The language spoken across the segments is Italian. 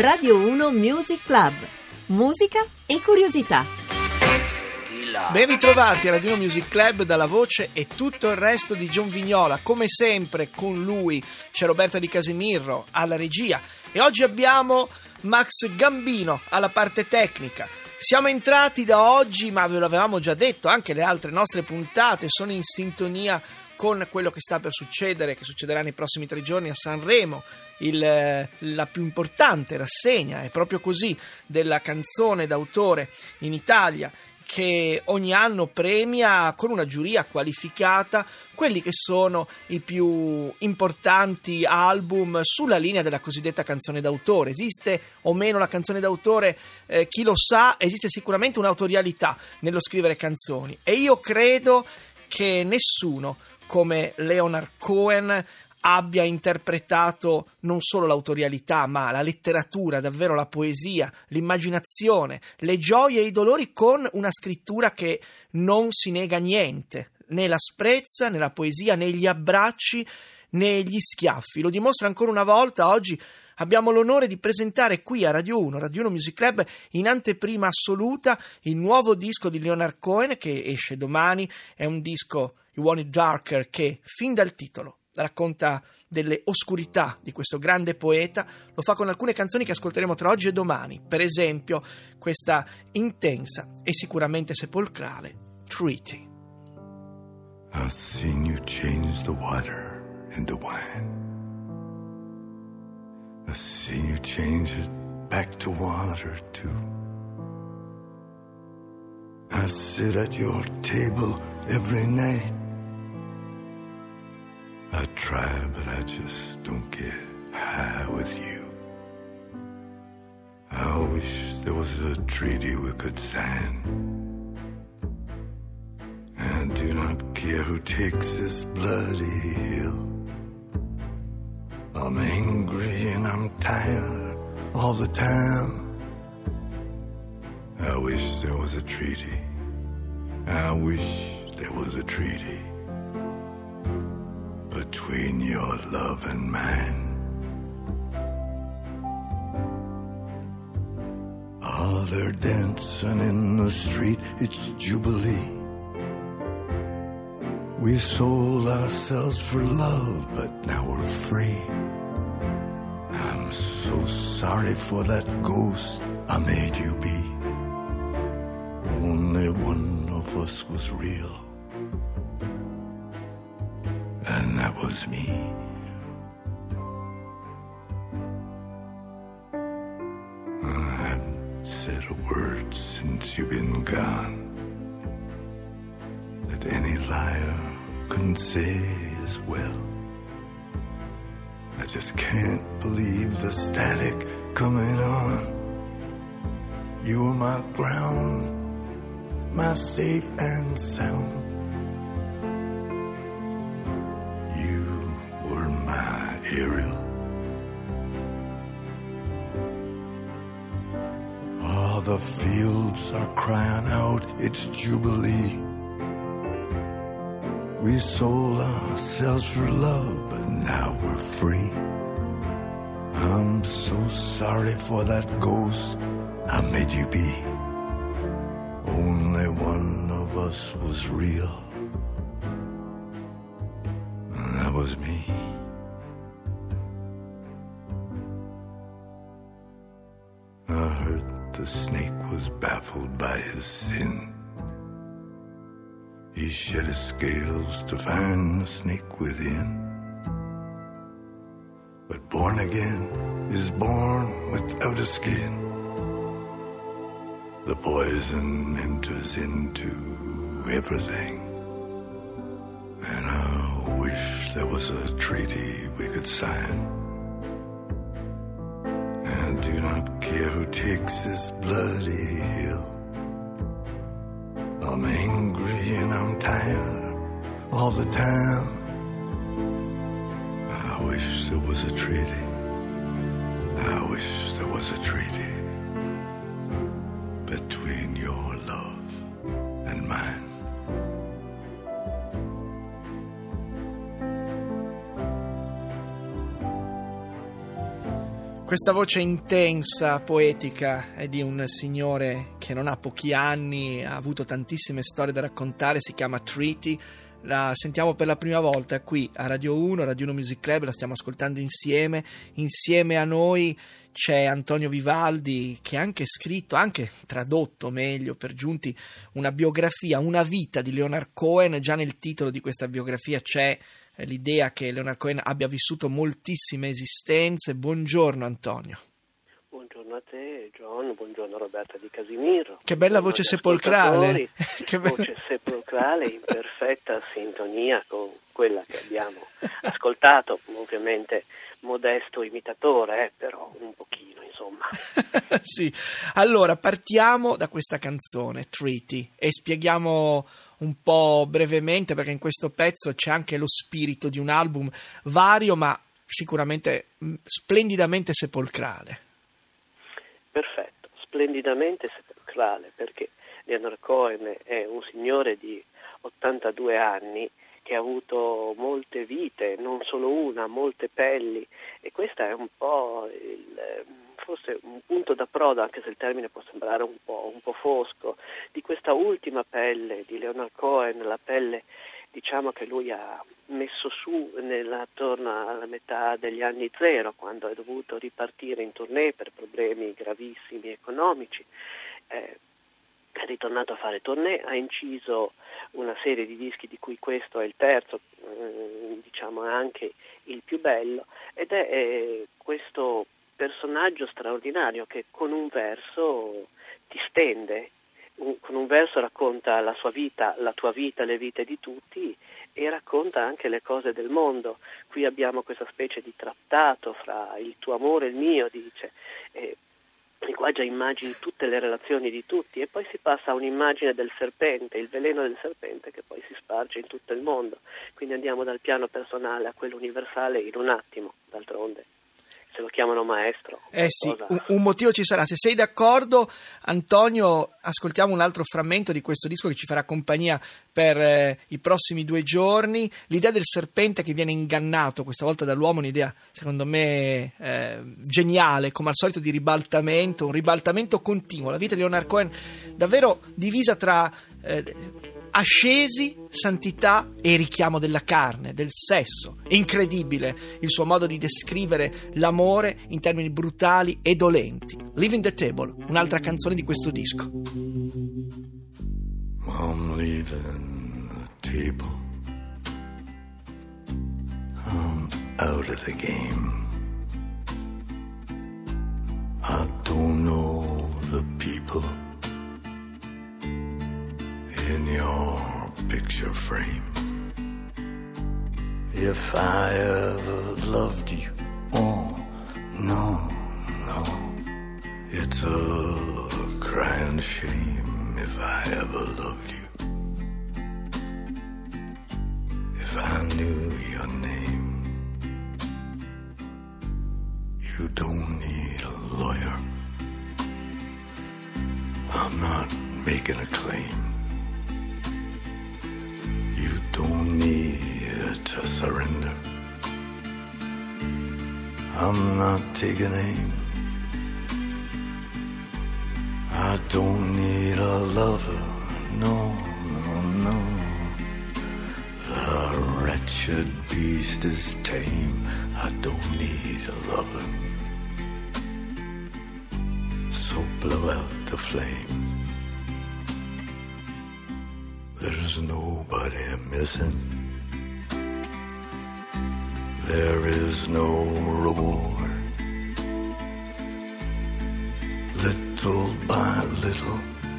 Radio 1 Music Club. Musica e curiosità. Ben ritrovati a Radio 1 Music Club dalla voce e tutto il resto di John Vignola. Come sempre con lui c'è Roberta Di Casemirro alla regia e oggi abbiamo Max Gambino alla parte tecnica. Siamo entrati da oggi, ma ve lo avevamo già detto, anche le altre nostre puntate sono in sintonia con quello che sta per succedere, che succederà nei prossimi 3 giorni a Sanremo. La più importante rassegna è proprio così della canzone d'autore in Italia, che ogni anno premia con una giuria qualificata quelli che sono i più importanti album sulla linea della cosiddetta canzone d'autore. Esiste o meno la canzone d'autore? Chi lo sa, esiste sicuramente un'autorialità nello scrivere canzoni, e io credo che nessuno come Leonard Cohen abbia interpretato non solo l'autorialità, ma la letteratura, davvero la poesia, l'immaginazione, le gioie e i dolori, con una scrittura che non si nega niente, né l'asprezza, né la poesia, né gli abbracci, né gli schiaffi. Lo dimostra ancora una volta. Oggi abbiamo l'onore di presentare qui a Radio 1 Music Club, in anteprima assoluta, il nuovo disco di Leonard Cohen che esce domani. È un disco, You Want It Darker, che fin dal titolo racconta delle oscurità di questo grande poeta. Lo fa con alcune canzoni che ascolteremo tra oggi e domani, per esempio questa intensa e sicuramente sepolcrale Treaty. I've seen you change the water into wine. I've seen you change it back to water too. I sit at your table every night. I try, but I just don't get high with you. I wish there was a treaty we could sign. I do not care who takes this bloody hill. I'm angry and I'm tired all the time. I wish there was a treaty. I wish there was a treaty between your love and mine. Oh, they're dancing in the street, it's Jubilee. We sold ourselves for love, but now we're free. I'm so sorry for that ghost I made you be. Only one of us was real, and that was me. I haven't said a word since you've been gone that any liar couldn't say as well. I just can't believe the static coming on. You were my ground, my safe and sound. Ariel. Oh, the fields are crying out, it's Jubilee. We sold ourselves for love, but now we're free. I'm so sorry for that ghost I made you be. Only one of us was real, and that was me. I heard the snake was baffled by his sin. He shed his scales to find the snake within. But born again is born without a skin. The poison enters into everything. And I wish there was a treaty we could sign. I do not care who takes this bloody hill. I'm angry and I'm tired all the time. I wish there was a treaty. I wish there was a treaty between your love and mine. Questa voce intensa, poetica, è di un signore che non ha pochi anni, ha avuto tantissime storie da raccontare, si chiama Treaty. La sentiamo per la prima volta qui a Radio 1, Radio 1 Music Club, la stiamo ascoltando insieme. Insieme a noi c'è Antonio Vivaldi, che ha anche scritto, anche tradotto meglio per giunti, una biografia, una vita di Leonard Cohen. Già nel titolo di questa biografia c'è l'idea che Leonard Cohen abbia vissuto moltissime esistenze. Buongiorno Antonio. Buongiorno a te John, buongiorno Roberta Di Casimiro. Che bella voce sepolcrale. Che voce sepolcrale in perfetta sintonia con quella che abbiamo ascoltato, ovviamente modesto imitatore, però un pochino insomma. Sì, allora partiamo da questa canzone Treaty e spieghiamo un po' brevemente, perché in questo pezzo c'è anche lo spirito di un album vario ma sicuramente splendidamente sepolcrale. Perfetto, splendidamente sepolcrale, perché Leonard Cohen è un signore di 82 anni che ha avuto molte vite, non solo una, molte pelli, e questa è un po' forse un punto d'approdo, anche se il termine può sembrare un po' fosco, di questa ultima pelle di Leonard Cohen, la pelle diciamo che lui ha messo su attorno alla metà degli anni zero, quando è dovuto ripartire in tournée per problemi gravissimi economici. È ritornato a fare tournée, ha inciso una serie di dischi di cui questo è il terzo, diciamo è anche il più bello, ed è questo personaggio straordinario che con un verso ti stende, con un verso racconta la sua vita, la tua vita, le vite di tutti, e racconta anche le cose del mondo. Qui abbiamo questa specie di trattato fra il tuo amore e il mio, dice, e qua già immagini tutte le relazioni di tutti, e poi si passa a un'immagine del serpente, il veleno del serpente che poi si sparge in tutto il mondo. Quindi andiamo dal piano personale a quello universale in un attimo, d'altronde. Se lo chiamano maestro. Sì, un motivo ci sarà. Se sei d'accordo, Antonio, ascoltiamo un altro frammento di questo disco che ci farà compagnia per i prossimi 2 giorni. L'idea del serpente che viene ingannato, questa volta dall'uomo, un'idea secondo me geniale, come al solito di ribaltamento, un ribaltamento continuo. La vita di Leonard Cohen davvero divisa tra ascesi, santità e richiamo della carne, del sesso. È incredibile il suo modo di descrivere l'amore in termini brutali e dolenti. Leaving the Table, un'altra canzone di questo disco. I'm leaving the table. I'm out of the game. I don't know the people in your picture frame. If I ever loved you, oh no, no, it's a crying shame. If I ever loved you, if I knew your name. You don't need a lawyer. I'm not making a claim. You don't need to surrender. I'm not taking aim. I don't need a lover, no, no, no. The wretched beast is tame. I don't need a lover. So blow out the flame. There's nobody missing. There is no reward. Little by little,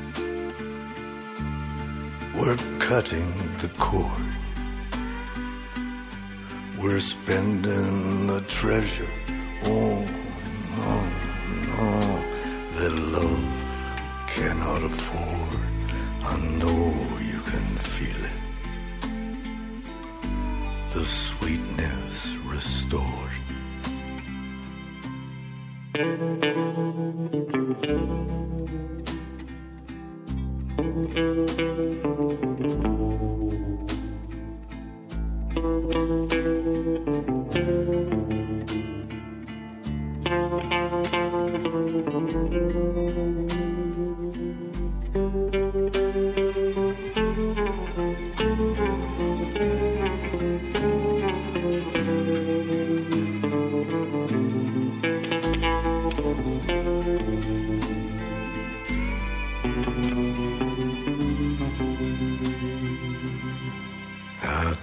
we're cutting the cord. We're spending the treasure. Oh, no, no, that love cannot afford. I know you can feel it. The sweetness restored.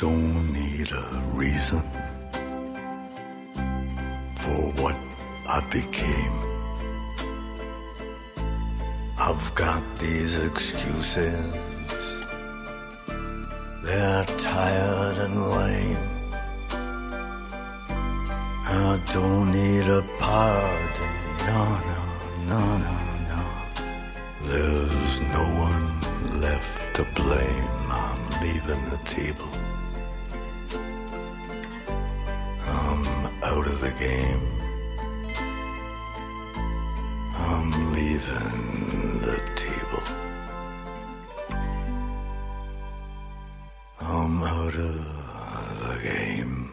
don't need a reason for what I became. I've got these excuses, they're tired and lame. I don't need a pardon, no. There's no one left to blame. I'm leaving the table. I'm out of the game. I'm leaving the table. I'm out of the game.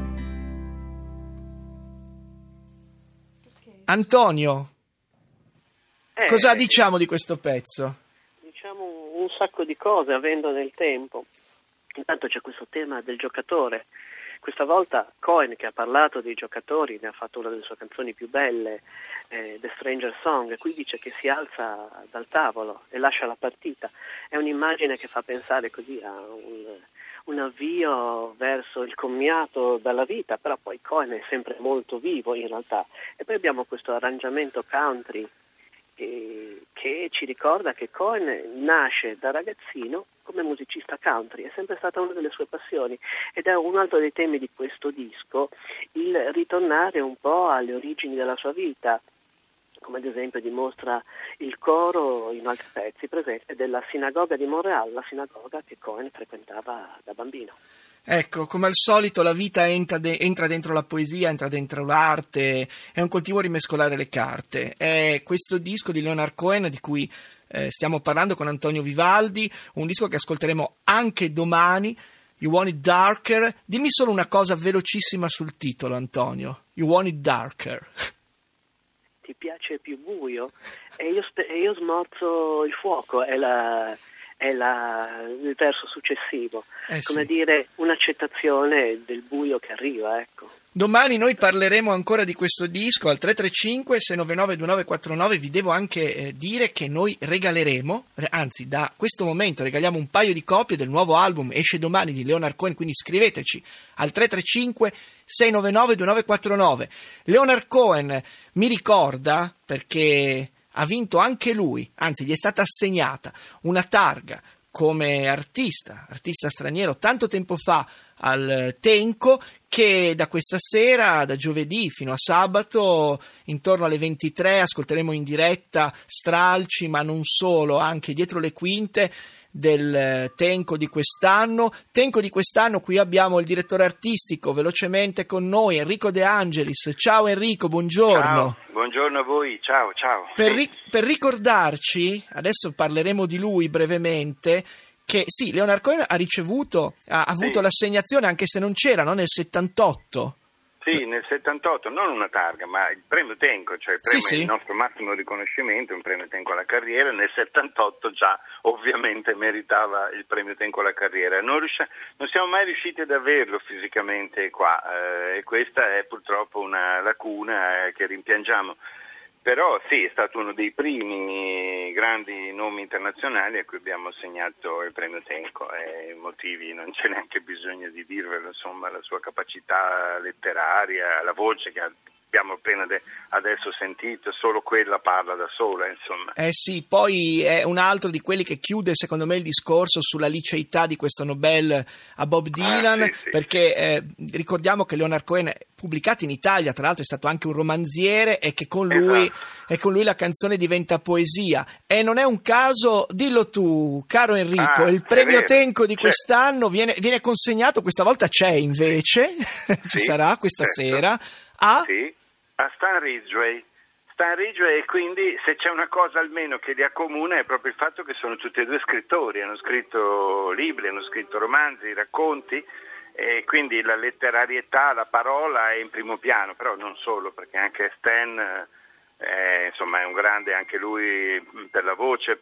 Antonio, cosa diciamo di questo pezzo? Diciamo un sacco di cose, avendo nel tempo. Intanto c'è questo tema del giocatore. Questa volta Cohen, che ha parlato dei giocatori, ne ha fatto una delle sue canzoni più belle, The Stranger Song, e qui dice che si alza dal tavolo e lascia la partita. È un'immagine che fa pensare così a un avvio verso il commiato dalla vita, però poi Cohen è sempre molto vivo in realtà. E poi abbiamo questo arrangiamento country che ci ricorda che Cohen nasce da ragazzino come musicista country, è sempre stata una delle sue passioni, ed è un altro dei temi di questo disco, il ritornare un po' alle origini della sua vita, come ad esempio dimostra il coro in altri pezzi, per esempio della sinagoga di Montreal, la sinagoga che Cohen frequentava da bambino. Ecco, come al solito la vita entra dentro la poesia, entra dentro l'arte, è un continuo rimescolare le carte. È questo disco di Leonard Cohen di cui stiamo parlando con Antonio Vivaldi, un disco che ascolteremo anche domani, You Want It Darker. Dimmi solo una cosa velocissima sul titolo, Antonio. You Want It Darker. Ti piace più buio? E io smorzo il fuoco, è il verso successivo, come dire, un'accettazione del buio che arriva, ecco. Domani noi parleremo ancora di questo disco al 335-699-2949. Vi devo anche dire che noi regaleremo, anzi da questo momento regaliamo un paio di copie del nuovo album, esce domani, di Leonard Cohen, quindi scriveteci al 335-699-2949. Leonard Cohen mi ricorda, perché ha vinto anche lui, anzi gli è stata assegnata una targa come artista straniero tanto tempo fa al Tenco, che da questa sera, da giovedì fino a sabato, intorno alle 23, ascolteremo in diretta stralci, ma non solo, anche dietro le quinte del Tenco di quest'anno. Tenco di quest'anno, qui abbiamo il direttore artistico velocemente con noi, Enrico De Angelis. Ciao Enrico, buongiorno. Ciao, buongiorno a voi, ciao. Per ricordarci, adesso parleremo di lui brevemente, che sì, Leonard Cohen ha avuto l'assegnazione, anche se non c'era, no? Nel 78. Sì, nel 78, non una targa, ma il premio Tenco, cioè il premio il nostro massimo riconoscimento, un premio Tenco alla carriera. Nel 78 già ovviamente meritava il premio Tenco alla carriera. Non siamo mai riusciti ad averlo fisicamente qua, e questa è purtroppo una lacuna che rimpiangiamo. Però sì, è stato uno dei primi grandi nomi internazionali a cui abbiamo assegnato il premio Tenco, e i motivi non c'è neanche bisogno di dirvelo, insomma, la sua capacità letteraria, la voce che abbiamo appena adesso sentito, solo quella parla da sola, insomma. Sì, poi è un altro di quelli che chiude secondo me il discorso sulla liceità di questo Nobel a Bob Dylan, sì. Perché ricordiamo che Leonard Cohen, pubblicato in Italia, tra l'altro è stato anche un romanziere, e che con lui la canzone diventa poesia. E non è un caso, dillo tu, caro Enrico, il premio Tenco di quest'anno viene consegnato, questa volta c'è invece, ci sarà questa sera, a Stan Ridgway. E quindi se c'è una cosa almeno che li accomuna è proprio il fatto che sono tutti e due scrittori, hanno scritto libri, hanno scritto romanzi, racconti, e quindi la letterarietà, la parola è in primo piano, però non solo, perché anche Stan insomma è un grande anche lui per la voce,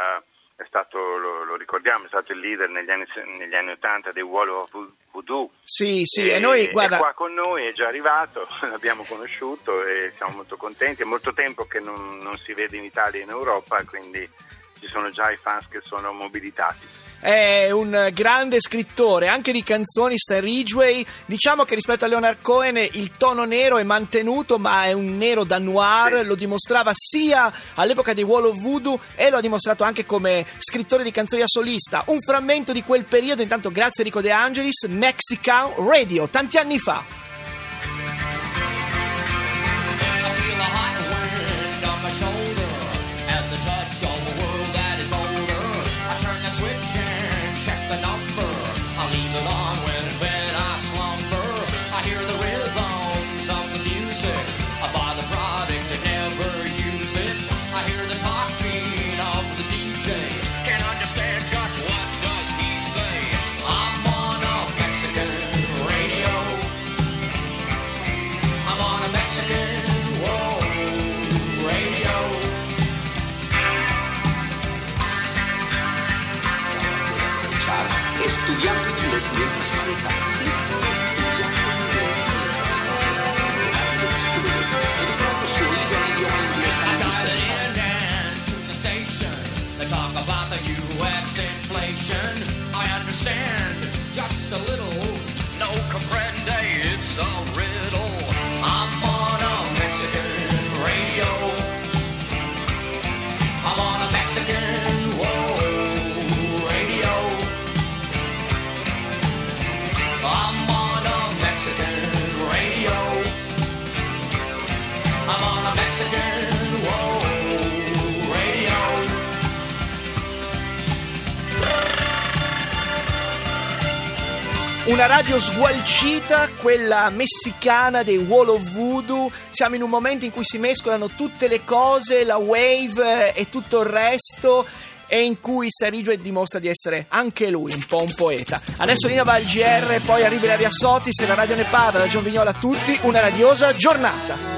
è stato, lo ricordiamo, è stato il leader negli anni 80 dei Wall of Voodoo. Sì, e noi, guarda, è qua con noi, è già arrivato, l'abbiamo conosciuto e siamo molto contenti. È molto tempo che non si vede in Italia e in Europa, quindi ci sono già i fans che sono mobilitati. È un grande scrittore anche di canzoni, Stan Ridgway. Diciamo che rispetto a Leonard Cohen il tono nero è mantenuto, ma è un nero da noir. Lo dimostrava sia all'epoca dei Wall of Voodoo e lo ha dimostrato anche come scrittore di canzoni da solista. Un frammento di quel periodo, intanto grazie Rico De Angelis, Mexican Radio, tanti anni fa. Una radio sgualcita, quella messicana dei Wall of Voodoo. Siamo in un momento in cui si mescolano tutte le cose, la wave e tutto il resto, e in cui Stan Ridgway dimostra di essere anche lui un po' un poeta. Adesso Lina va al GR, poi arriva Ilaria Sotis e la radio ne parla. Da John Vignola a tutti, una radiosa giornata.